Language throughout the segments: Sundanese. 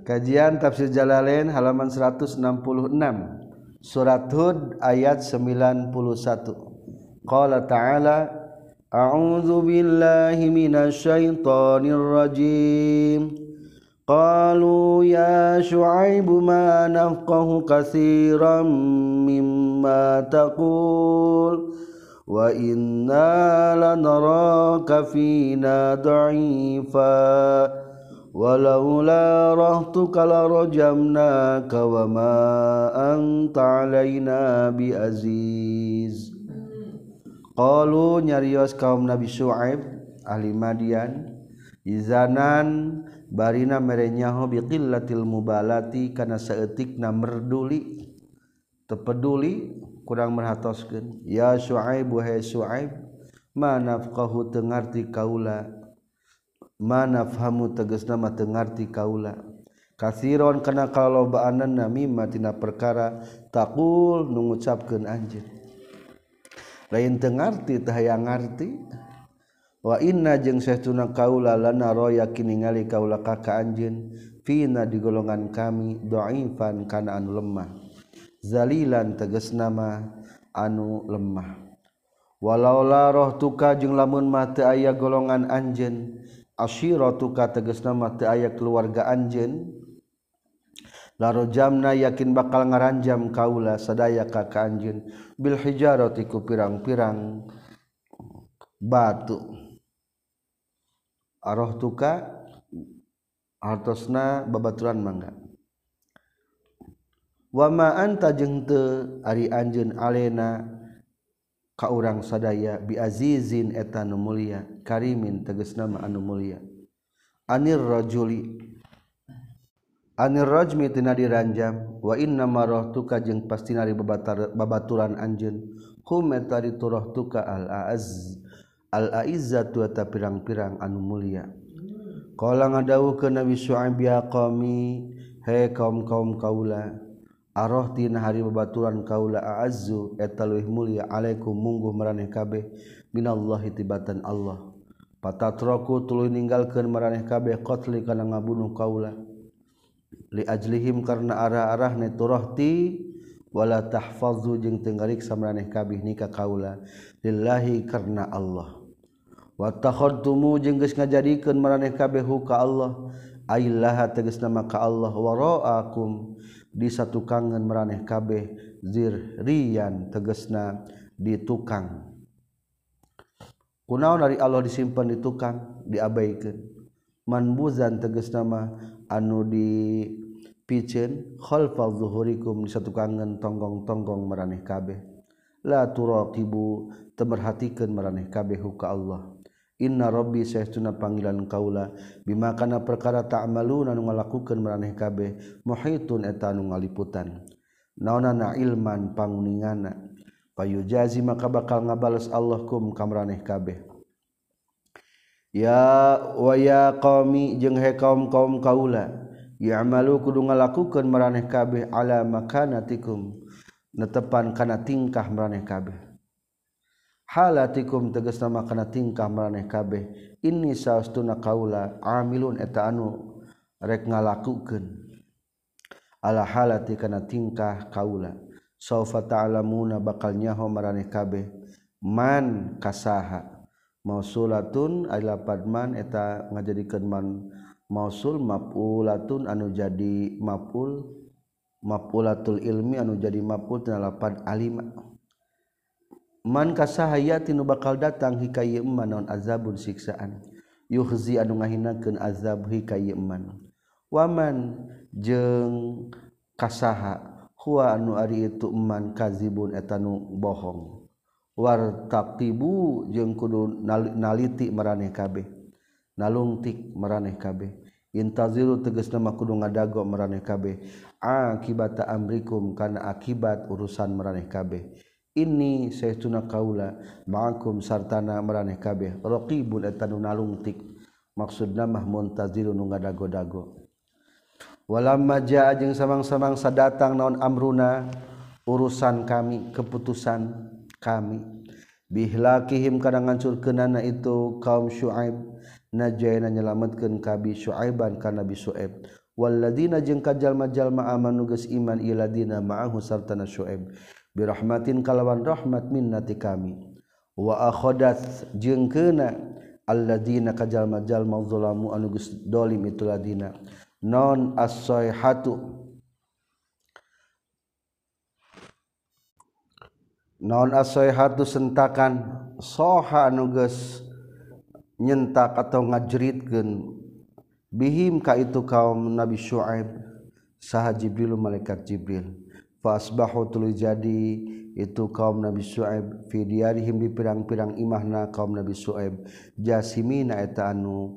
Kajian Tafsir Jalalain halaman 166. Surat Hud ayat 91. Qala ta'ala A'udzu billahi minasy syaithanir rajim. Qalu ya Syu'aibu ma nafqahu katsiran mimma taqul wa inna lanaraka fina dha'ifa walaula rahtuka larajamnaka wa ma anta alaina biaziz. Qalu nyarios kaum Nabi Syuaib ahli Madian izanan barina merenyaho biqillatil mubalati kana saeutikna merduli teu peduli kurang merhatoskeun. Ya Syuaib wahai Syuaib ma nafqahu teu ngarti kaula ma nafhamu tegasna mah teu ngarti kaula katsiron kana kalobaanan mimma tina perkara taqul nu ngucapkeun anjeun lain teu ngarti teu hayang ngarti. Wa inna jeung saestuna kaula lanaro yakin ningali kaula ka anjeun fina di golongan kami dhaifan kana anu lemah zalilan tegasna mah anu lemah. Walaula rohtuka jeung lamun mah teu aya golongan anjeun asyiratuka tegasna mah teu aya keluarga anjeun larojamna yakin bakal ngaranjam kaula sadaya ka anjeun bil hijarati ku pirang-pirang batu. Arohtuka hartosna babaturan mangga. Wa ma anta jeung teu ari anjeun alena ka urang sadaya bi azizin eta nu mulia karimin tegasna mah anu mulia. Anir rajmi tina diranjam wa inna ma rohtuka jeung pastina ari babaturan anjeun hum eta rohtuka al aizzatu eta pirang-pirang anu mulia. Qala ngadawuhkeun Nabi Syuaib ya qaumi he kaum-kaum kaula arahtina hari babaturan kaula a'azzu eta leuwih mulia alaikum mungguh maraneh kabeh minallahi tibatan Allah patatraku tuluy ninggalkeun maraneh kabeh qatli kana ngabunuh kaula li ajlihim karna arah-arahna turahti wala tahfazu jeung teu ngariksa maraneh kabeh nika kaula lillahi karna Allah. Wa takhadtumu jeung geus ngajadikeun maraneh kabeh ka Allah aillaha tegasna maka Allah waraakum di satukangan maraneh kabeh zirriyan tegasna di tukang kunaon dari Allah disimpan di tukang diabaikeun manbuzan tegasna mah anu dipiceun khalfa zuhurikum di satukangan tonggong-tonggong maraneh kabeh la turaqibu teu merhatikeun maraneh kabeh ka Allah. Inna rabbi saestuna panggilan kaula bima kana perkara ta'maluna anu ngalakukeun maraneh kabeh muhitun eta anu ngaliputan naonana ilman panguningana payujazi maka bakal ngabales Allah kum ka maraneh kabeh. Ya wa ya qaumi jeung he kaum-kaum kaula ya'malu kudu ngalakukeun maraneh kabeh ala makanatikum netepan kana tingkah maraneh kabeh halatikum tegasna makana tingkah maraneh kabeh inni saustuna kaula amilun eta anu rek ngalakukeun ala halati kana tingkah kaula saufa ta'lamuna bakal nyaho maraneh kabeh man kasaha mausulatun alapad man eta ngajadikeun man mausul mafulatun anu jadi mafulatul ilmi anu jadi maful tina lapad alima. Man kasahayati nu bakal datang hikaye eman naon azabun siksaan yuhzi anu ngahinakeun azab hikaye eman waman jeung kasaha huwa anu ari itu eman kazibun eta nu bohong wartaqibu jeung kudu naliti maraneh kabeh nalungtik maraneh kabeh intaziru tegasna mah kudu ngadago maraneh kabeh akibata amrikum kana akibat urusan maraneh kabeh. Ini saestuna kaula ma'akum sartana maraneh kabeh raqibun eta nu nalungtik maksudna mah muntazirun nu ngadago-dago. Walamma jaa jeung samang-samang sadatang naon amruna urusan kami keputusan kami bihlakihim kana ngancurkeunana itu kaum Syuaib najayna nyelametkeun kabi Syuaiban kana Nabi Syuaib Walladzina jeung ka jalma-jalma amanu geus iman iladina ma'ahu sartana Syuaib birahmatin kalawan rahmat minna ti kami wa akhadat jeung keuna alladzina ka jalma-jalma zalamu anu geus dolim itu ladina non as-sayhatu sentakan soha anu geus nyentak atau ngajritkeun bihim ka itu kaum Nabi Syuaib saha Jibril malaikat Jibril fa asbahu tuluy jadi itu kaum Nabi Syuaib fi diyarihim di pirang-pirang imahna kaum Nabi Syuaib jasimina eta anu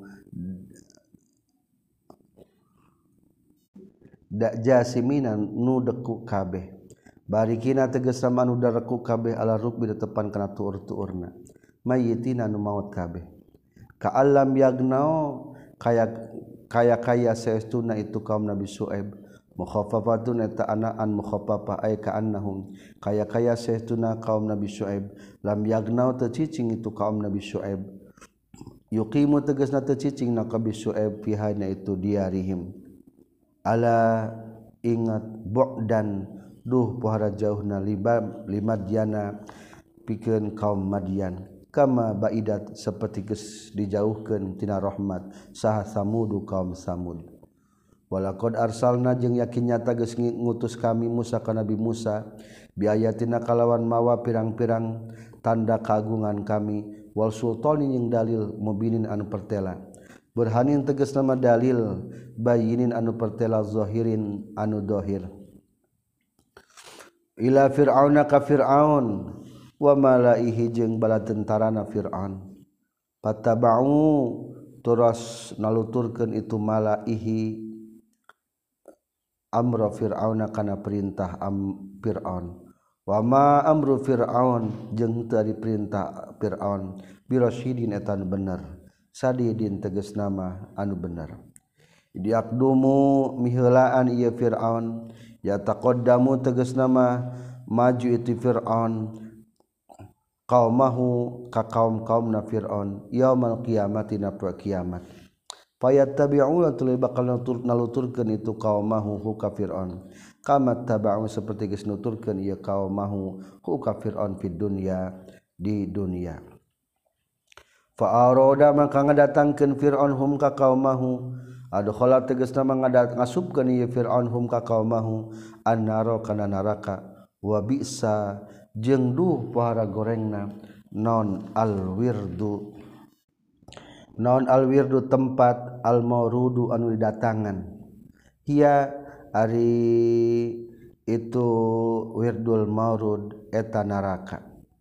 jasimina nu deku kabeh barikina tegasna anu dareku kabeh ala rukbi tepan kana tuur-tuurna mayyitina nu maut kabeh ka alam yagnao kaya saestuna itu kaum Nabi Syuaib mukhaffafatun eta anaan mukhaffafah ay ka annahum kaya saestuna kaum Nabi Syuaib lam yagnau teu cicing itu kaum Nabi Syuaib yuqimu tegasna teu cicing na kaum Syuaib pihana itu diarihim ala ingat bu'dan duh pohara jauhna limadiana pikeun kaum Madian kama baidat seperti geus dijauhkeun tina rahmat saha samudu kaum samud walaqad arsalna jeung yakin nyata geus ngutus kami Musa ka Nabi Musa biayatina kalawan mawa pirang-pirang tanda kagungan kami wal sultanin yang dalil mubinin anu pertela burhanin tegas nama dalil bayinin anu pertela zahirin anu dohir ila fir'auna ka fir'aun wa malaihi jeung bala tentarana Fir'aun patabau turas naluturkeun itu malaihi amra fir'auna kana perintah Fir'aun wa ma amru fir'aun jeung teu ari perintah Fir'aun birasyidin eta bener sadidin tegas nama anu bener diakdumu miheulaan ieu Fir'aun ya taqaddamu tegas nama maju itu Fir'aun qaumahu ka kaum-kaumna Fir'aun yaumul qiyamati na kiamat fayattabi'una tuluy bakal naluturkeun itu qaumahu hu ka Fir'aun kama taba'u saperti geus nuturkeun ieu qaumahu hu ka Fir'aun fid dunya di dunia fa arada maka ngadatangkeun Fir'aun hum ka qaumahu adkhala tegasna ngasupkeun ieu Fir'aun hum ka qaumahu annara kana neraka wa bi'sa jeung duh pohara gorengna non alwirdu tempat almaurudu anu didatangan hiya ari itu wirdul maurud eta neraka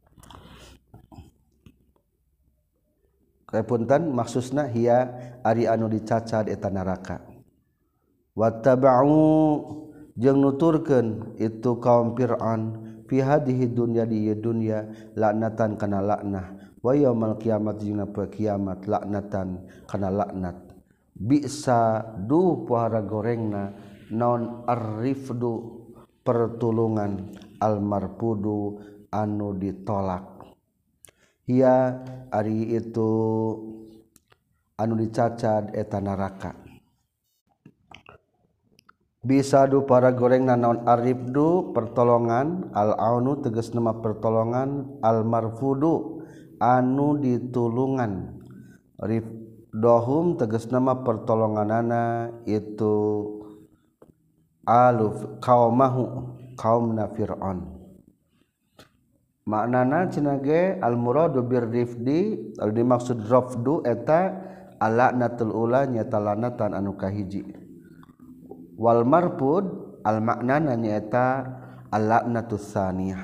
kapunten maksudna hiya ari anu dicacad eta neraka wattaba'u jeung nuturkeun itu kaum Fir'aun fi hadhihi dunya di dunya laknatan kana laknah wa yaumil qiyamah jeung na kiamat laknatan kana laknat bisa duh pohara gorengna non arifdu pertulungan almarpudu anu ditolak hiya ari itu anu dicacad eta neraka bisa du para goreng naon arifdu pertolongan al-aunu tegas nama pertolongan al-marfudu anu ditulungan rifdohum tegas nama pertolonganana itu aluf kaumahu kaumna Fir'aun maknana cenah ge al-muradu birrifdi dimaksud rafdu eta al-la'natul ula nyata lanatan anu kahiji wal marfud al maknana nyaeta al la'natus tsaniyah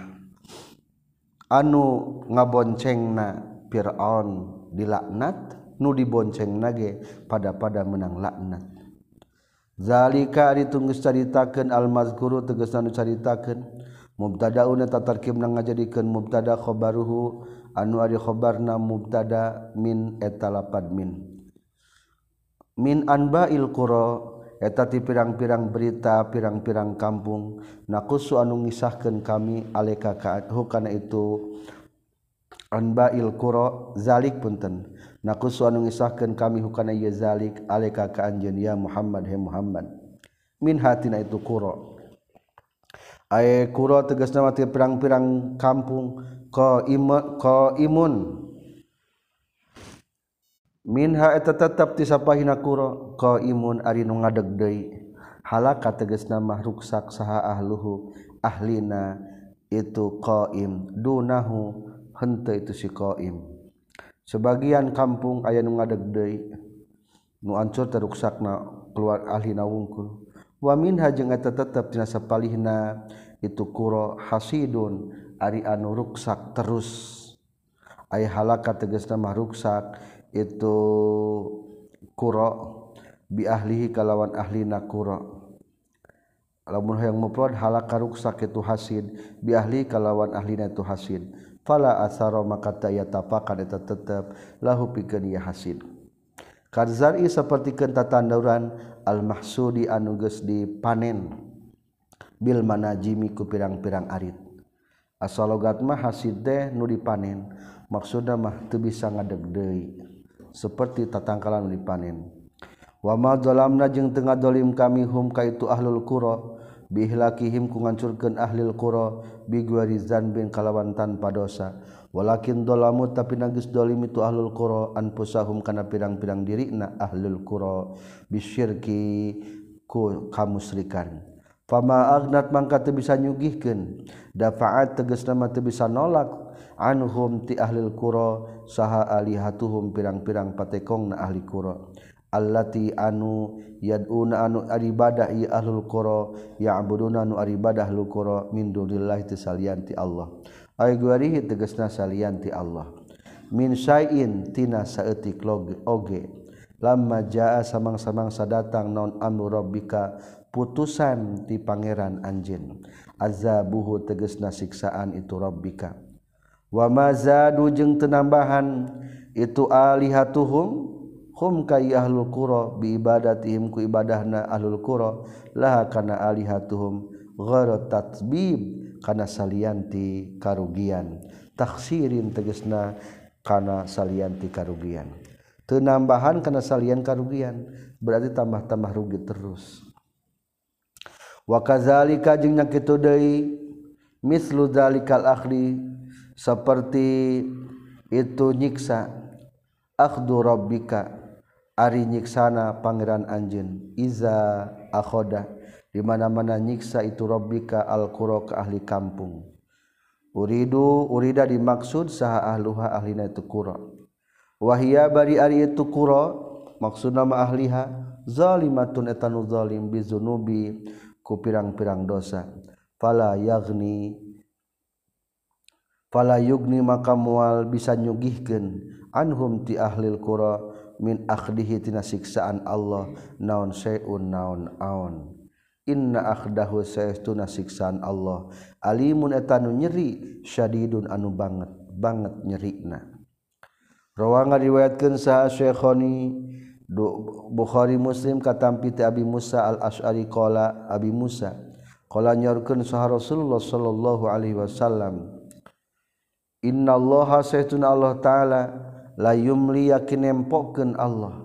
anu ngaboncengna Fir'aun dilaknat nu diboncengna ge pada menang laknat zalika ari tunggus caritakeun al mazkuru tegasna nu caritakeun mubtadaun eta tarkibna ngajadikeun mubtada khabaruhu anu ari khabarna mubtada min eta lapad min anba'il qura eta ti pirang-pirang berita pirang-pirang kampung naqusu anu ngisahkeun kami aleka kana itu anba'il qura zalik punten naqusu anu ngisahkeun kami hukana ieu zalik aleka ka anjeun ya Muhammad he Muhammad min hatina itu kuro ay kuro tegasna mati pirang-pirang kampung ko imun minha eta tetep ti sapahina kuro ko imun ari nu ngadeg deui halaka tegasna mah ruksak saha ahluhu ahlina itu qaim dunahu henteu itu si qaim sebagian kampung aya nu ngadeg deui nu ancur teruksakna keluar ahlina wungkul wa minha jeung eta tetep tina sapalihna itu kuro hasidun ari anu ruksak terus aya halaka tegasna mah ruksak itu kuro bi ahlihi kalawan ahlina kuro lamun hayang mufrad halaka ruksak itu hasid bi ahli kalawan ahlina itu hasid fala asara maka taya tapakan eta tetep lahu pikeun ieu hasid kadzari sapertikeun tatanduran al mahsudi anu geus dipanen bil manajimi ku pirang-pirang arit asalogat mah hasid teh nu dipanen maksudna mah teu bisa ngadeg deui seperti tatangkalan nu dipanen wa ma zalamna jeung teu ngadolim kami hum ka itu ahlul qura bihlakihim ku ngancurkeun ahlul qura bi guari zanbin kalawan tanpa dosa walakin dolamu tapi nagis dolim itu ahlul qura anfusahum kana pirang-pirang dirina ahlul qura bisyirki ku kamusyrikan fama agnat mangka teu bisa nyugihkeun dafa'at tegasna mah teu bisa nolak anhum ti ahlul qura saha alihatuhum pirang-pirang patekongna ahli qura allati anu yad'una anu ibadah ieu ahlul qura ya'buduna anu ibadah ahlul qura min dunillahi tisalianti Allah ay guarihi tegasna salianti Allah min syai'in tina saeutik oge lamma jaa samang-samang sadatang naon amru rabbika putusan ti pangeran anjeun azabuhu tegasna siksaan itu rabbika wa mazadu jeung teu nambahan itu alihatuhum hum ka ahlul qura bi ibadatihim ku ibadahna ahlul qura laha kana alihatuhum ghara tatbib kana salianti karugian taksirin tegasna kana salianti karugian teu nambahan kana salian karugian berarti tambah-tambah rugi terus wa kadzalika jeung nya kitu deui mislu dzalikal akhli seperti itu nyiksa akhdu rabbika ari nyiksana pangeran anjeun iza akhoda di mana-mana nyiksa itu rabbika al-qura ka ahli kampung urida dimaksud saha ahluha ahlina itu qura wahia bari ari itu qura maksudna ma ahliha zalimatun etanu zalim bizunubi ku pirang-pirang dosa fala yugni maka moal bisa nyugihkeun anhum ti ahlil qura min akhdihi tina siksaan Allah naon syai'un naon aon inna akhdahu saestuna siksaan Allah alimun etanu nyeri syadidun anu banget nyerina rawa ngariwayatkeun saha Syekhoni Bukhari Muslim katampi ti Abi Musa al-Asy'ari qala Abi Musa qala nyorkeun saha Rasulullah sallallahu alaihi wasallam innallaha saestuna Allah taala la yumli yakin nempokeun Allah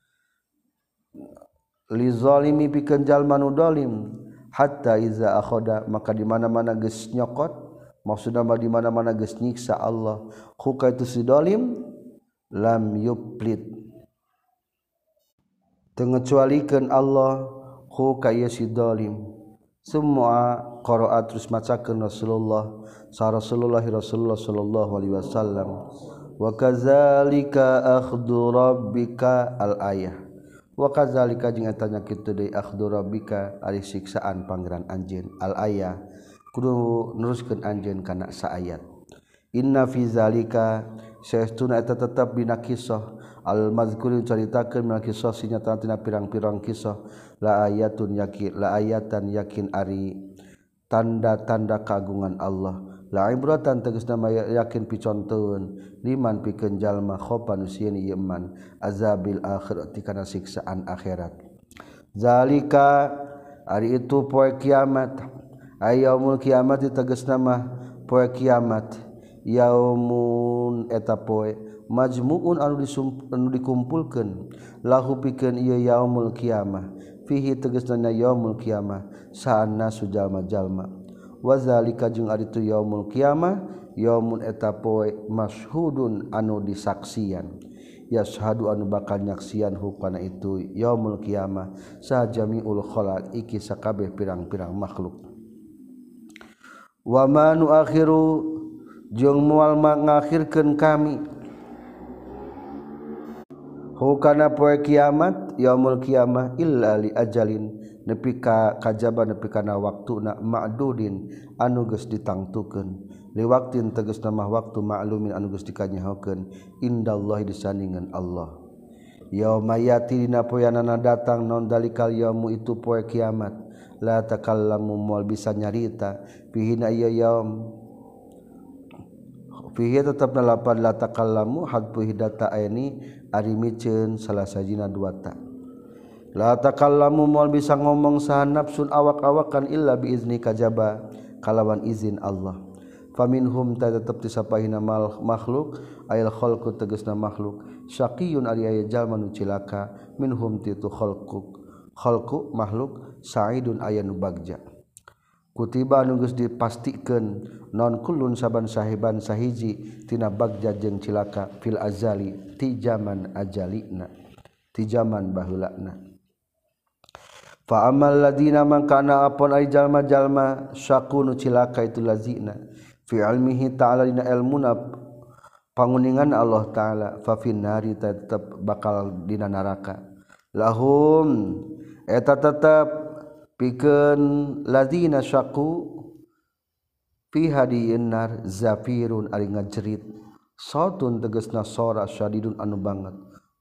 li zalimi pikeun jalma nu zalim hatta iza akhoda maka di mana-mana geus nyokot maksudna mah di mana-mana geus nyiksa Allah ku ka itu si zalim lam yuplit teu ngecualikeun Allah ku ka ieu si zalim semua qiraat terus macakeun Rasulullah sallallahu alaihi wasallam wa kadzalika akhdhu rabbika al-ayah wa kadzalika jeung eta nya kitu deui akhdhu rabbika ari siksaan pangeran anjeun al-ayah kudu neruskeun anjeun kana saayat inna fi zalika saestuna eta tetep dina kisah al-mazkur caritakeun mina kisah sinyata tina pirang-pirang kisah la ayatan yakin ari tanda-tanda kagungan Allah la ibratan tegasna yakin piconteun liman pikeun jalma khopan usieun ieu man azabil akhirati kana siksaan akhirat zalika ari itu poe kiamat ayaumul kiamat tegasna mah poe kiamat yaumun eta poe majmuun anu dikumpulkeun lahu pikeun ieu yaumul kiamah fihi tegasna yaumul qiyamah sa'anna sujalma-jalma wa zalika jeung ari tu yaumul qiyamah yaumun eta poe masyhudun anu disaksian yashhadu anu bakal nyaksian hukana itu yaumul qiyamah sa jamiul khalaq iki sakabeh pirang-pirang makhluk wa ma nu akhiru jeung moal ngakhirkeun kami hukana poe kiamat yaumul qiyamah illa li ajalin nepi ka kajaba nepi kana waktuna ma'dudin anu geus ditangtukeun li waktin tegasna mah waktu ma'lumin anu geus dikanyahokeun indallahi disandingan Allah yauma yati dina poeanana datang naon dalikal yaumu itu poe kiamat la takallamu moal bisa nyarita fihi na ieu yaum fihi tetepna lapan la takallamu hadfu hidata aini ari miceun salah sajina dua ta la takallamu moal bisa ngomong saha nafsun awak-awakan illa biizni kajaba kalawan izin Allah faminhum tetep disapahina makhluk ayal khalqu tegasna makhluk syaqiyun ari aya jalma nu cilaka minhum titu khalqu makhluk sa'idun aya nu bagja kutiba anu geus dipastikeun non kullun saban sahiban sahiji tina bagja jeung cilaka fil azali ti zaman ajalina ti zaman baheulana fa amal ladina man kana apon ay jalma-jalma syaqunu cilaka itu lazina fi ilmihi ta'ala dina ilmuna panguningan Allah ta'ala fa finnari tetep bakal dina neraka lahum eta tetep pikeun ladina syaqu fi hadiyin nar zafirun ari ngajerit sautun tegasna sora syadidun anu banget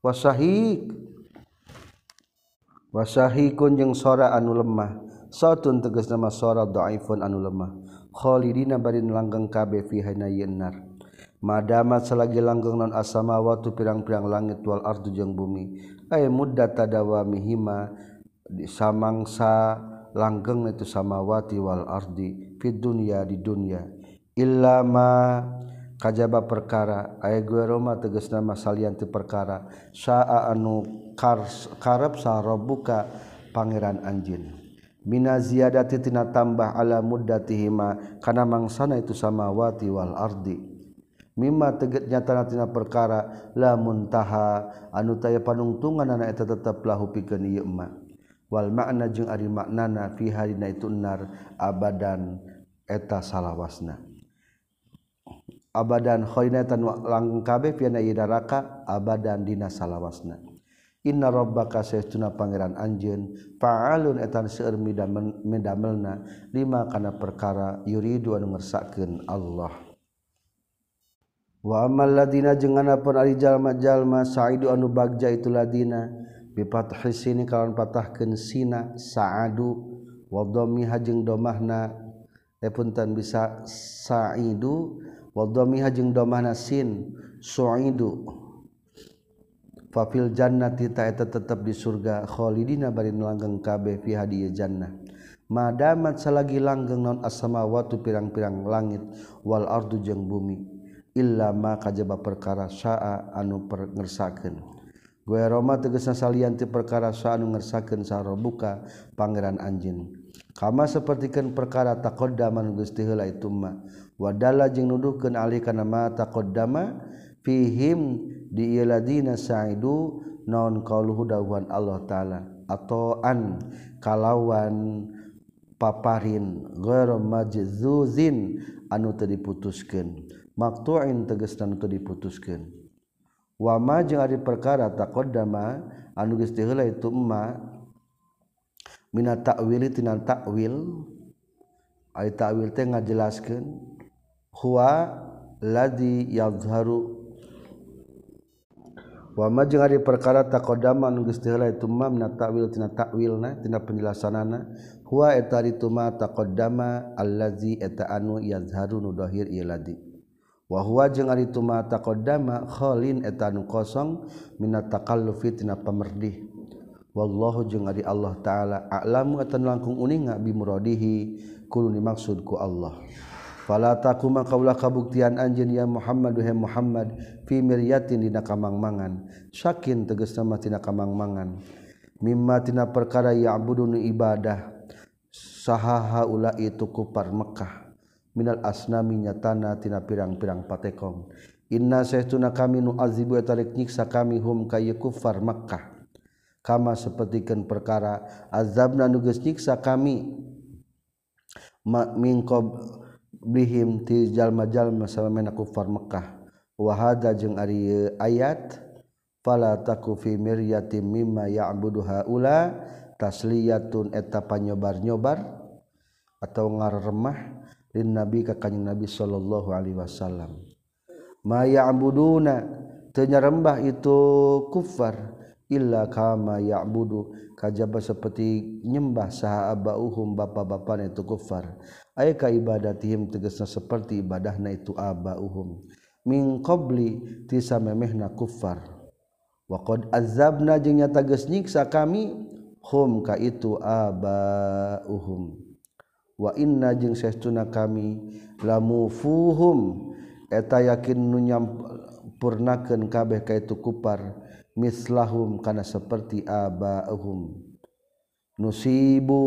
wasahikun jeung sora anu lemah sautun tegasna mah sora dhaifun anu lemah khalidina barin langgeng kabeh fi hanayin nar madamat selagi langgeng non as-samawati pirang-pirang langit wal ardu jeung bumi ay muddat tadawamihima di samangsa langgeng itu samawati wal ardi fid dunya di dunya illa ma kajaba perkara aya gueroma tegasna mah salian ti perkara saa anu karep sa rabbuka pangeran anjeun mina ziyadati tina tambah ala muddatihima kana mangsana itu samawati wal ardi mimma teget nyatana tina perkara la muntaha anu taya panungtunganna eta tetep lahu pikeun ieu mah wal makna jeung ari maknana fi hadina itu nar abadan eta salawasna abadan khainatan langgeng kabeh piana ieu neraka abadan dina salawasna inna rabbaka saestuna pangeran anjeun fa'alun etan seueur midamelna lima kana perkara yuridu anu ngersakkeun Allah wa amal ladina jeung anapun ari jalma-jalma sa'idu anu bagja itu ladina bifathi sini kalawan patahkeun sina sa'adu wa dhammiha jeung domahna punten bisa sa'idu wa dhammiha jeung domahna sin su'idu fa fil jannati ta eta tetep di surga khalidina bari langgeng kabeh fi hadiya jannah madamat salagi langgeng naon as-samawati pirang-pirang langit wal ardu jeung bumi illa ma kajaba perkara syaa anu ngersakeun gue Roma tegasna salian ti perkara saanu ngersakeun sarobuka pangeran anjeun kama sapertikeun perkara taqaddama nu geus heula itu mah wadalla jeung nuduhkeun alih kana ma taqaddama fihim di iladina sa'idu naon qauluhu dawuhan Allah taala atoan kalawan paparin ghairu majzuzin anu teu diputuskeun maqtu'in tegasna anu teu diputuskeun wa ma jeung ari perkara taqaddama anu geus heula itu emma mina ta'wil tina ta'wil ai ta'wil teh ngajelaskeun huwa ladzi yazharu wa ma jeung ari perkara taqaddama anu geus heula itu emma mina ta'wil tina ta'wilna tina penjelasanana huwa eta itu ma taqaddama allazi eta anu yazharu nu dhahir ieu ladzi wa huwa jeung ari tu ma taqaddama khalin eta anu kosong minat takallufi tina pamerdih wallahu jeung ari Allah taala a'lamu atan langkung uninga bi muradihi kudu dimaksud ku Allah fala taquma qaula kabuktian anjeun ya Muhammad he Muhammad fi miryatin dina kamangmangan syakin tegasna mah tina kamangmangan mimma tina perkara ya'budun ibadah saha haula itu kufar Mekkah minal asnami nyatana tina pirang-pirang patekong inna saestuna kami nu azibu eta rek nyiksa kami hum ka kufar Mekkah kama sapertikeun perkara azabna nu geus nyiksa kami min qablihim ti jalma-jalma samemena kufar Mekkah wa hada jeung ari ayat fala taku fi miryatin mimma ya'budu haula tasliyatun eta panyobar-nyobar atau ngaremah lin nabi ka kanjing nabi sallallahu alaihi wasallam ma ya'buduna teu nyarembah itu kufar illa kama ya'budu kajaba saperti nyembah saha abauhum bapa-bapana itu kufar aya ka ibadatihim tegasna saperti ibadahna itu abauhum min qabli ti samemehna kufar wa qad azabna jeung nyata geus nyiksa kami hum ka itu abauhum wa inna jeung saestuna kami lamufuhum eta yakin nu nyampurnakeun kabeh ka itu kufar mislahum kana saperti abauhum nusibu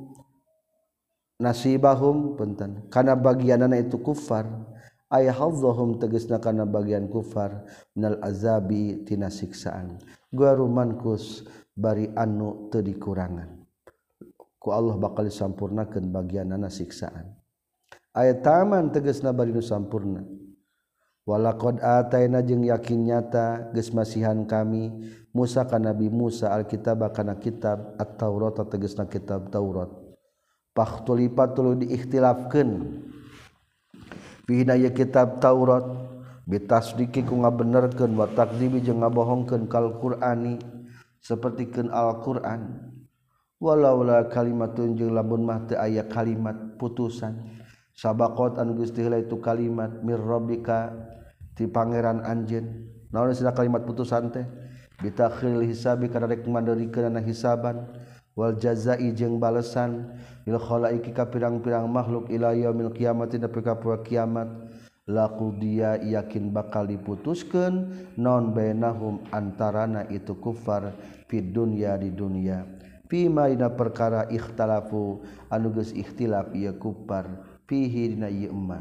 nasibahum punten kana bagianana itu kufar aya hadzahum tegasna kana bagian kufar minal azabi tina siksaan guarumankus bari anu teu dikurangan ku Allah bakal disampurnakeun bagianana siksaan aya taman tegasna bari nu sampurna walaqad ataina jeung yakin nyata geus masihan kami Musa ka Nabi Musa alkitab kana kitab at-Taurat tegasna kitab Taurat pakhtulipat tuluy diikhtilafkeun fi daya kitab Taurat bitasdiki ku ngabenerkeun wa takdzibi jeung ngabohongkeun kal Qur'ani sapertikeun Al-Qur'an walaula kalimatun jeung lamun mah teu aya kalimat putusan sabaqat anu geus heula itu kalimat mir rabbika ti pangeran anjeun naon istilah kalimat putusan teh bitakhil hisabi kana rek mandeurikeunna hisaban wal jazai jeung balesan lil khalaiki ka pirang-pirang makhluk ila yaumil qiyamati nepi ka poe kiamat laqudiya yakin bakal diputuskeun non bainahum antarana itu kufar fid dunya di dunya fima dina perkara ikhtalafu anu geus ikhtilaf ieu kufar fihi dina ieu emma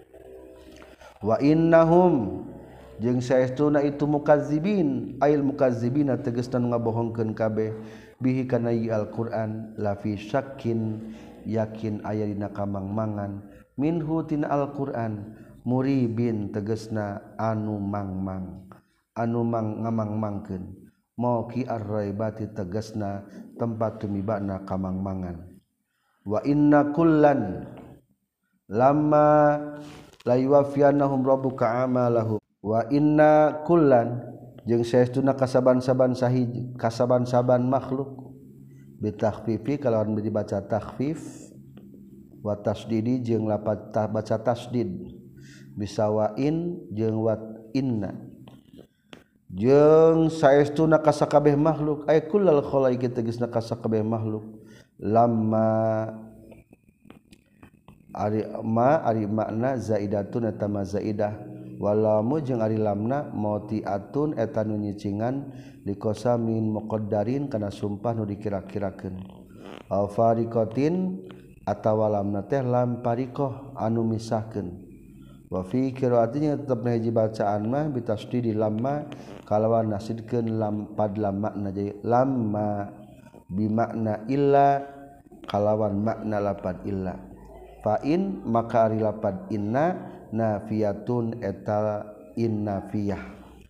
wa innahum jeung saestuna itu mukazzibin ail mukazzibina tegasna ngabohongkeun kabeh bihi kana ieu Al-Qur'an la fi syakkin yakin aya dina kamangmangan minhu tina Al-Qur'an muribin tegasna anu mangmang anu ngamangmangkeun mauqi ar-raibati tegasna tempat tumibana kamangmangan wa inna kullan lamma la yuwaffiyannahum rabbuka amalahum wa inna kullan jeung saestuna kasaban-saban sahiji kasaban-saban makhluk bitakhfifi kalawan dibaca takhfif wa tasdidi jeung lapat baca tasdid bisawain jeung wat inna jeung saestuna kasakabeh makhluk ay kullal khalaiqi tegasna kasakabeh makhluk lamma ari makna zaidatun eta ma zaidah walamu jeung ari lamna mautiatun eta nu nyicingan dikosamin muqaddarin kana sumpah nu dikira-kirakeun aw fariqatin atawa lamna teh lam pariqah anu misahkeun wa fi qiraatinya tetep hiji bacaan mah bitasdidi lamma kalawan nasidkeun lam pad lam makna jadi lamma bimakna illa kalawan makna lapad illa fa in maka ari lapad inna nafiyatun eta innafiyah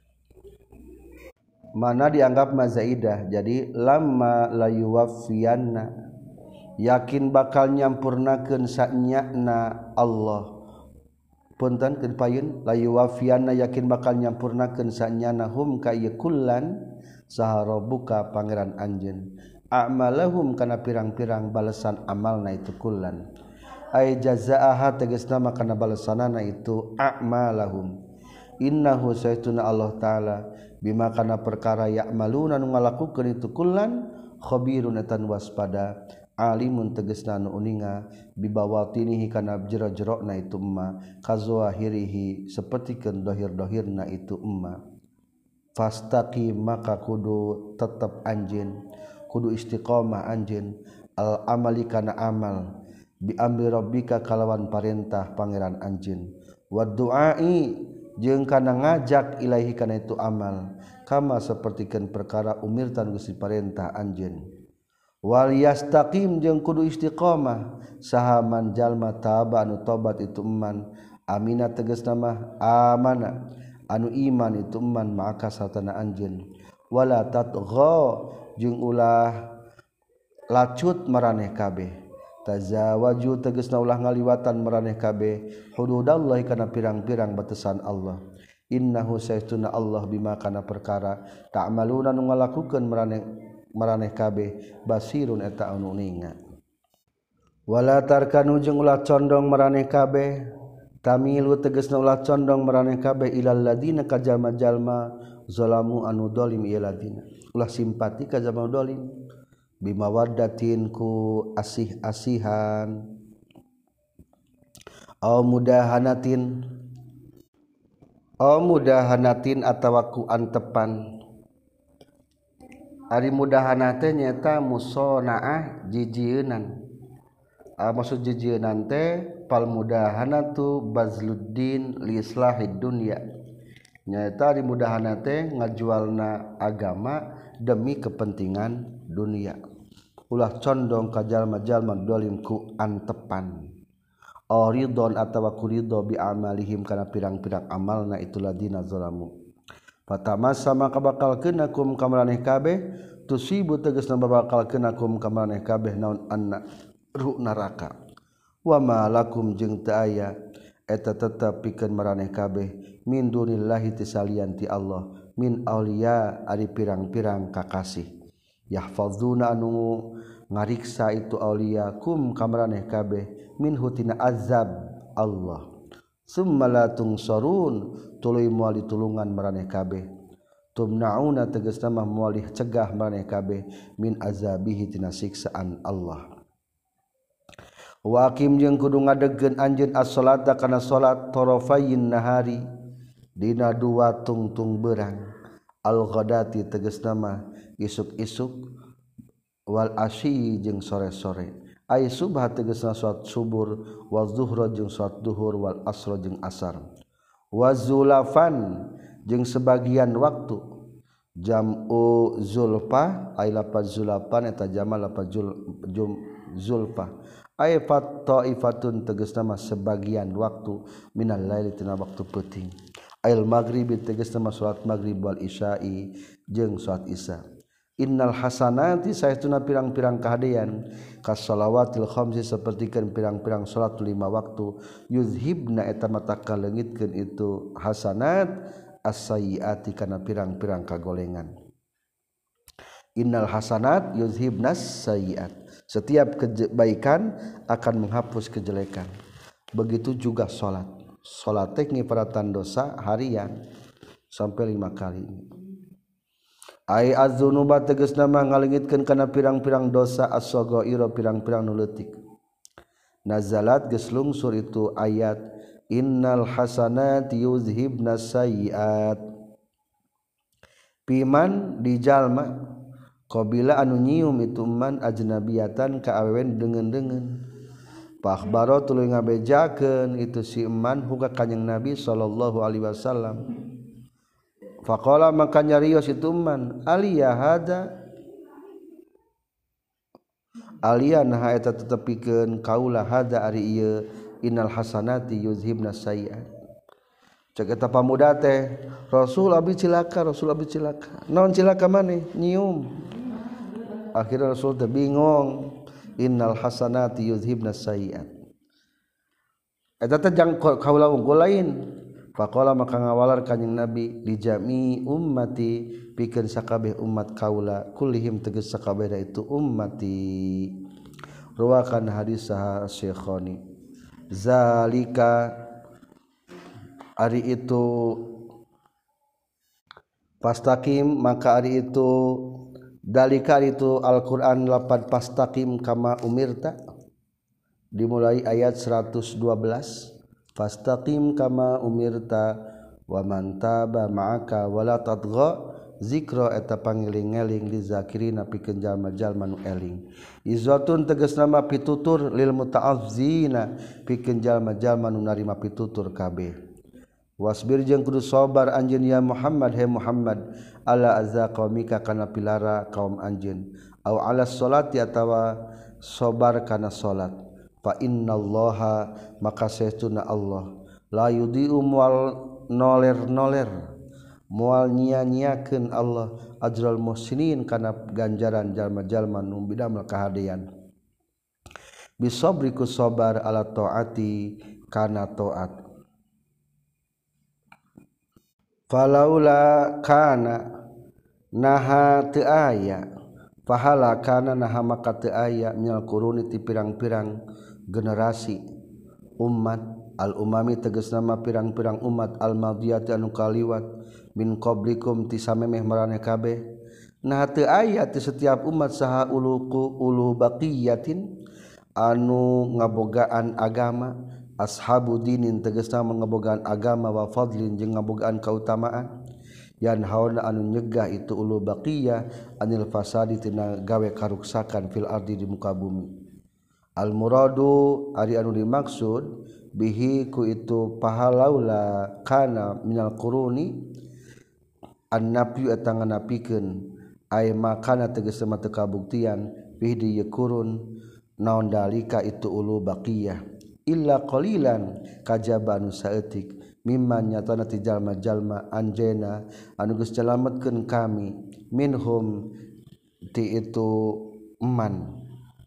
mana dianggap mazaidah jadi lamma la yuwaffiyanna yakin bakal nyampurnakeun sanyana Allah punten keun payun la yuwaffiyanna yakin bakal nyampurnakeun sanyana hum ka ieu kullan saha rabbuka pangeran anjeun a'malahum kana pirang-pirang balesan amalna itu kullan ay jazaaha tegasna makana balesanana itu a'malahum innahu sayyiduna Allah taala bima kana perkara ya'maluna nu ngalakukeun itu kullan khabirun tan waspada alimun tegasna nu uninga bibawatinihi kana jero-jerona itu emma kazwahirihi sapertikeun dohir-dohirna itu emma fastaqi maka kudu tetep anjeun kudu istiqomah anjeun al amali kana amal bi amri rabbika kalawan parentah pangeran anjeun wa du'ai jeung kana ngajak ilaahi kana itu amal kama sapertikeun perkara umirtan geus diparentah anjeun wal yastaqim jeung kudu istiqomah sahaman jalma taba anu tobat itu eman amina tegasna mah amana anu iman itu eman maka satana anjeun wala tatgha jeung ulah lacut maraneh kabeh tazawaju tegasna ulah ngaliwatan maraneh kabeh hududallahi kana pirang-pirang batasan Allah innahu saytuna Allah bima kana perkara ta'maluna nu ngalakukeun maraneh kabeh basirun eta anu ninga wala tarkanu jeung ulah condong maraneh kabeh tamilu tegasna ulah condong maraneh kabeh ilal ladina ka jalma-jalma zalamu anu dolim ieu ladina ulah simpati ka jalma dolim bimawaddatin ku asih-asihan aw mudahanatin atawa ku antepan ari mudahana teh nyata musanaah jijieun maksud jijieun teh pal mudahanatu bazluddin li islahid dunya nyata ari mudahana teh ngajualna agama demi kepentingan dunia ulah condong ka jalma-jalma dolim ku antepan ridon atawa ku ridho bi amalihim kana pirang-pirang amalna itu ladina zalamu fatamassa maka bakal kenakum kamaraneh kabeh tusibu tegasna bakal kenakum kamaraneh kabeh naon anna ruh neraka wa ma lakum jeung teu aya eta tetep pikeun maraneh kabeh min dunillahi tisalian ti Allah min auliya ari pirang-pirang kakasih yahfazuna anu ngariksa itu auliya kum kamaraneh kabeh min hutina azab Allah summa la tungsarun tuluy moal ditulungan maraneh kabeh tumnauna tegasna mah moal cegah maraneh kabeh min azabihi tina siksaan Allah waqim jeung kudu ngadegkeun anjeun as-salata kana salat tarafayin nahari dina dua tungtung beurang al-ghadati tegasna mah isuk-isuk wal asyi jeung sore-sore ay subha tegasna salat subur wa zuhra jeung salat duhur wal asra jeung asar wa zulafan jeung sebagian waktu jam'u zulfa ay lafaz zulafan eta jamal lafaz zulfa ay fat taifatun tegasna mah sebagian waktu minal laili tina waktu peuting ayil maghribi tegasna mah salat maghrib wal isya'i jeung salat isya innal hasanati saestuna pirang-pirang kahadean kas shalawatil khamsi sapertikeun pirang-pirang salat 5 waktu yuzhibna eta mata kaleungitkeun itu hasanat as-sayyiati kana pirang-pirang kagolengan innal hasanat yuzhibnas sayyiat setiap kebaikan akan menghapus kejelekan begitu juga salat teh ngiparatan dosa harian sampai 5 kali ai az-dzunuba tegasna mah ngaleungitkeun kana pirang-pirang dosa as-saghaira pirang-pirang nu leutik nazalat geus lungsur itu ayat innal hasanati yuzhibnas sayyiat piman di jalma qabila anu nyium itu man ajnabiyatan ka awewen deungeun-deungeun pakhbaro tuluy ngabejakeun itu si man huga kanjing Nabi sallallahu alaihi wasallam faqala maka nyarios itu man aliya hada aliya nah eta tetepikeun kaula hada ari ieu innal hasanati yuzhibna sayyi'at cek eta pamuda teh rasul abi cilaka naon cilaka maneh nyium akhirnya rasul teh bingung innal hasanati yuzhibna sayyi'at eta teh jang kaula unggul lain faqala maka ngawalar kanjing Nabi li jami ummati pikeun sakabeh umat kaula kullihim tegas sakabeh itu ummati ruwakan hadis sah Syekhani zalika ari itu pastaqim maka ari itu dalika itu Al-Qur'an lapan pastaqim kama umirta dimulai ayat 112 fastaqim kama umirta wa man taba ma'aka wala tadgha zikra eta pangiling-eling li zakirina pikeun jalma-jalma nu eling izatun tegas nama pitutur lil muta'azzina pikeun jalma-jalma nu narima pitutur kabeh wasbir jeung kudu sabar anjeun ya Muhammad he Muhammad ala azza qaumika kana pilara kaum anjeun au ala sholati atawa sabar kana salat fa innallaha maka saestuna Allah la yudhi'u noler mual nyia-nyiakeun Allah ajral muhsinin kana ganjaran jalma-jalma nu bidamel kahadean bisabriku sabar ala taati kana taat falaula kana naha teu aya pahala kana naha maka teu aya minal quruni ti pirang-pirang generasi umat al umami tegasna mah pirang-pirang umat al madiyati anu kaliwat min qablikum ti samemeh maraneh kabeh nah teu aya ti setiap umat saha ulu baqiyatin anu ngabogaan agama ashabu dinin tegasna ngabogaan agama wa fadlin jeung ngabogaan kautamaan yan hauna anu nyegah itu ulu baqiyah anil fasadi tina gawe karuksakan fil ardi di muka bumi al muradu ari anu dimaksud bihi ku itu pahalaula kana minal quruni an-nafyu eta nganapikeun ay makana tegasna mah teu kabuktian bihi di yakurun naon dalika itu ulu baqiyah illa qalilan kajaba anu saeutik mimman nyatana ti jalma-jalma anjena anu geus nyalametkeun kami minhum ti itu eman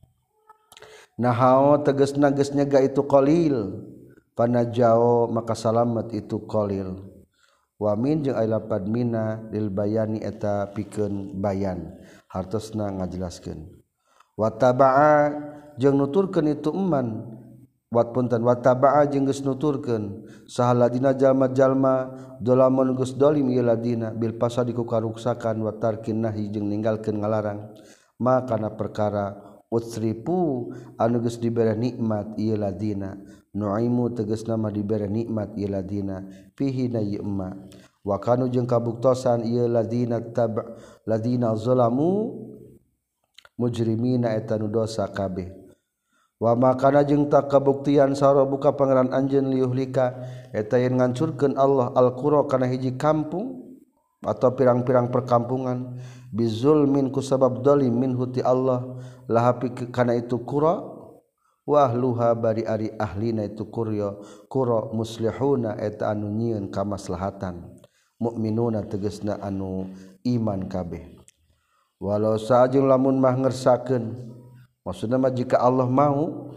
nahao tegasna geus nyega itu qalil panajao maka salamet itu qalil wa min jeung aya lapad mina lil bayani eta pikeun bayan hartosna ngajelaskeun wa tabaa jeung nuturkeun itu eman wat punten wa tabaa jeung geus nuturkeun saha ladina jalma-jalma dolamun geus dolim ieu ladina bil pasadi ku karuksakan wa tarkin nahi jeung ninggalkeun ngalarang maka kana perkara utsripu anu geus dibere nikmat ieu ladina nuaimu tegasna mah dibere nikmat ieu ladina fihi na yma wa kanu jeung kabuktosan ieu ladina ladina zalamu mujrimina eta nu dosa kabeh wa makana jeung tak kabuktian saro buka pangeran anjeun liuhlika eta yen ngancurkeun Allah al-qura kana hiji kampung atau pirang-pirang perkampungan bizulmin ku sabab zalim minhu ti Allah lahapi kana itu qura wa ahluha bari ari ahlina itu qura muslihuna eta anu nyieun kamaslahatan mukminuna tegasna anu iman kabeh walau sajeng lamun mah ngersakeun maksudna mah jika Allah mau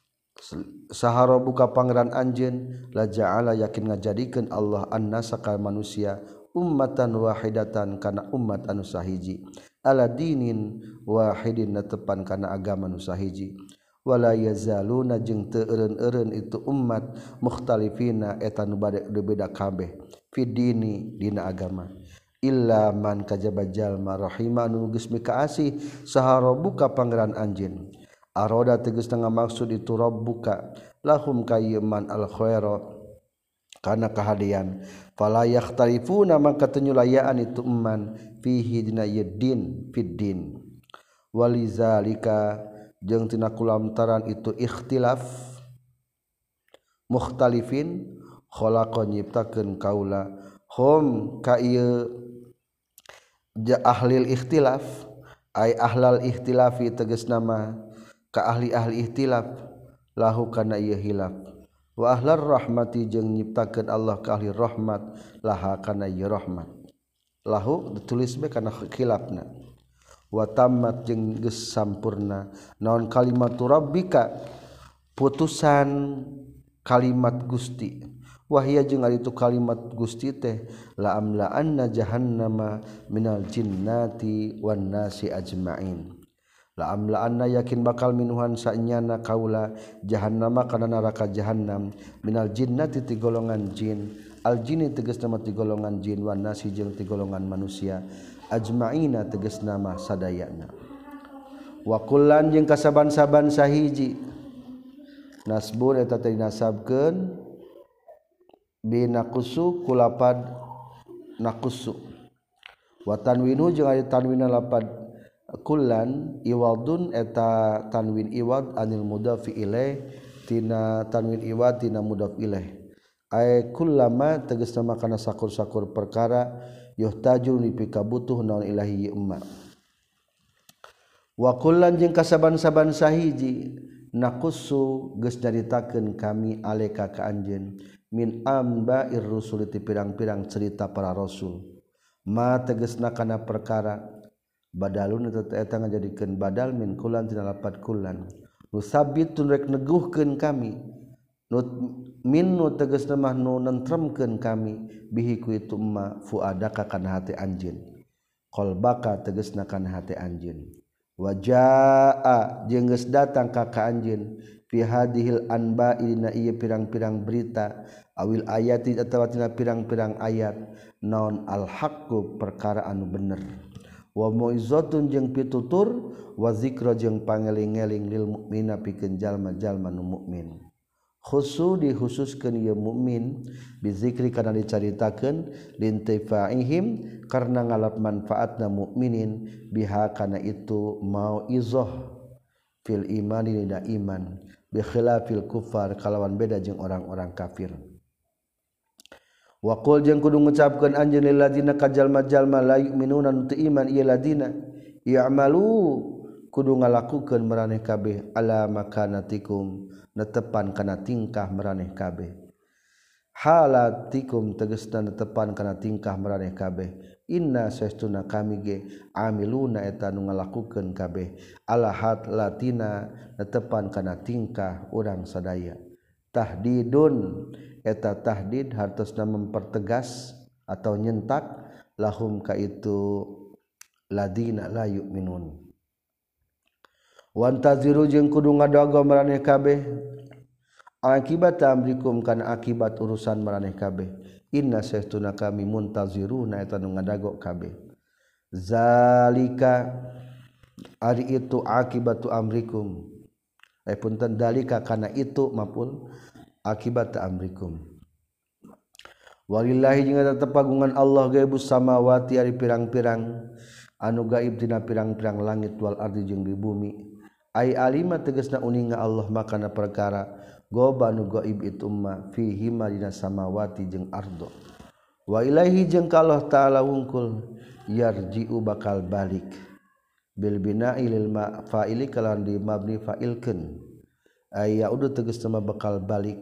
sahara buka pangeran anjeun la ja'ala yakin ngajadikeun Allah annasa ka manusia ummatan wahidatan kana umat anu sahiji ala dinin wahidin netepan kana agama nu sahiji wala yazaluna jeung teu eureun-eureun itu umat mukhtalifina eta nu beda kabeh fid dini dina agama illa man kajaba jalma rahima anu geus mikaasih saha rabbuka pangeran anjeun aroda tegasna ngamaksud itu rabbuka lahum kayman al khaira kana kahadian fala yakhtalifuna maka tenyulayaan itu eman fihi dina yaddin fiddin walizalika jeung tina kulantaran itu ikhtilaf mukhtalifin khalaqa nyiptakeun kaula hum ka ieu ahlil ikhtilaf ay ahlal ikhtilafi tegasna mah ka ahli-ahli ikhtilaf lahu kana ieu hilaf wa ahlar rahmati jeung nyiptakeun Allah ka ahli rahmat laha kana ieu rahmat lahu ditulis bae kana khilafna wa tammat jeung geus sampurna naon kalimatu rabbika putusan kalimat Gusti wahia jeung ari itu kalimat Gusti teh la amla anna jahannama minal jinnati wan nasi ajmain la amla anna yakin bakal minuhan sanyana kaula jahannama kana neraka jahannam minal jinnati ti golongan jin al jinni tegasna mah ti golongan jin wan nasi jeung ti golongan manusia ajmaina tegasna mah sadayana wa kullan jeung kasaban-saban sahiji nasbun eta teh dinasabkeun binaqusu kulapad naqusu wa tanwinu jeung ari tanwinna lapad kullan iwadun eta tanwin iwad anil mudhafi ilaih tina tanwin iwad tina mudhaf ilaih ay kullama tegasna kana sakur-sakur perkara yuhtaju nipika butuh naon ilahi umma wa kullan jeung kasaban-saban sahiji naqussu geus nyaritakeun kami aleka ka anjeun min amba'ir rusul ti pirang-pirang cerita para rasul ma tegasna kana perkara badalun eta ngajadikeun badal min kullan tina lapat kullan nusabbitun rek neguhkeun kami min nu tegasna mah nu nentremkeun kami bihi ku itu ma fuadaka kana hati anjeun qalbaka tegasna kana hati anjeun wajaa jeung geus datang ka anjeun fi hadhil anba'i dina ieu pirang-pirang berita awil ayati atawa tina pirang-pirang ayat naon al haqqu perkara anu bener wa mu'izzatun jeung pitutur wa zikra jeung pangeling-eling lil mukmina pikeun jalma-jalma nu mukmin khusu dikhususkeun ieu mukmin bizikri kana dicaritakeun lintifaihim karena ngalap manfaatna mukminin biha kana itu mauizah fil imani dina iman bi khilafil kufar kalawan beda jeung orang-orang kafir wa qul jeung kudu ngucapkeun anjeun lil ladina ka jalma-jalma la yu'minuna tu iman ieu ladina ya'malu kudu ngalakukeun maraneh kabeh ala makanatikum netepan kana tingkah maraneh kabeh halatikum tegasna netepan kana tingkah maraneh kabeh inna sastuna kami ge amiluna eta nu ngalakukeun kabeh ala latina netepan kana tingkah urang sadaya tahdidun eta tahdid hartosna mempertegas atau nyentak lahum ka itu ladina la yu'minun wantaziru jeung kudu ngadogo maraneh kabeh akibat amrikum kana akibat urusan maraneh kabeh inna sastuna kami muntaziruna eta nu ngadago kabeh zalika ari itu akibatu amrikum punten dalika kana itu mapun akibat amrikum walillahi jeung eta tepagungan Allah gaibus samawati ari pirang-pirang anu gaib dina pirang-pirang langit wal ardi jeung di bumi ai alima tegasna uninga Allah makana perkara gobanu gaib itu ma fihi ma dina samawati jeung ardo wa ilaihi jeung ka Allah taala wungkul yarji'u bakal balik bil bina'i lil fa'ili kalawan di mabni fa'ilkeun ay yaudu tegasna bakal balik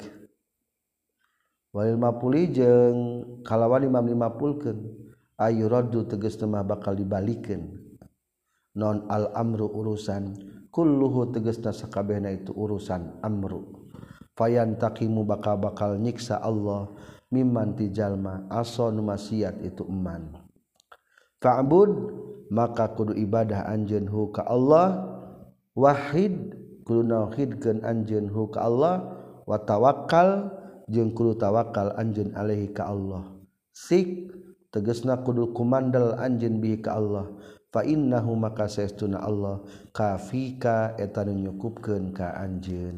walil mapuli jeung kalawan di mabni mapulkeun ay yuraddu tegasna bakal dibalikeun non al amru urusan kulluhu tegasna sakabehna itu urusan amru fayantaqimu bakal nyiksa Allah mimman ti jalma asa nu maksiat itu eman fa'bud maka kudu ibadah anjeun hu ka Allah wahid kudu nauhidkeun anjeun hu ka Allah wa tawakkal jeung kudu tawakal anjeun alaihi ka Allah sik tegasna kudu kumandal anjeun bihi ka Allah fa innahu maka saestuna Allah kafika eta nu nyukupkeun ka anjeun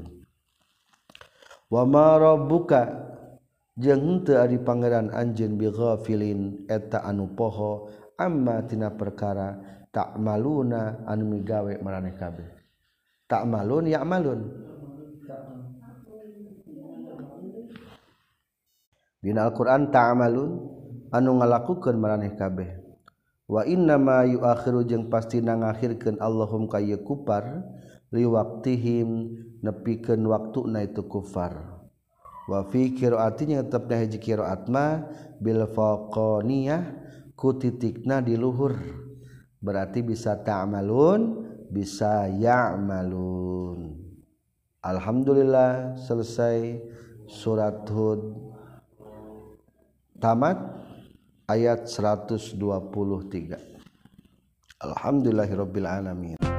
wa ma rabbuka jeung henteu ari pangeran anjeun bi ghafilin eta anu poho amma tina perkara ta'maluna anu migawe maraneh kabeh ta'malun ya'malun dina Al-Qur'an ta'malun anu ngalakukeun maraneh kabeh wa inna ma yuakhiru jeung pastina ngakhirkeun Allahum ka ieu kufar li waqtihim nepikeun waktuna itu kufar wa fi qiraatin tetepna hiji qiraat ma bil faqaniyah ku titikna di luhur berarti bisa ta'malun bisa ya'malun alhamdulillah selesai surat Hud tamat ayat 123 alhamdulillahirabbil alamin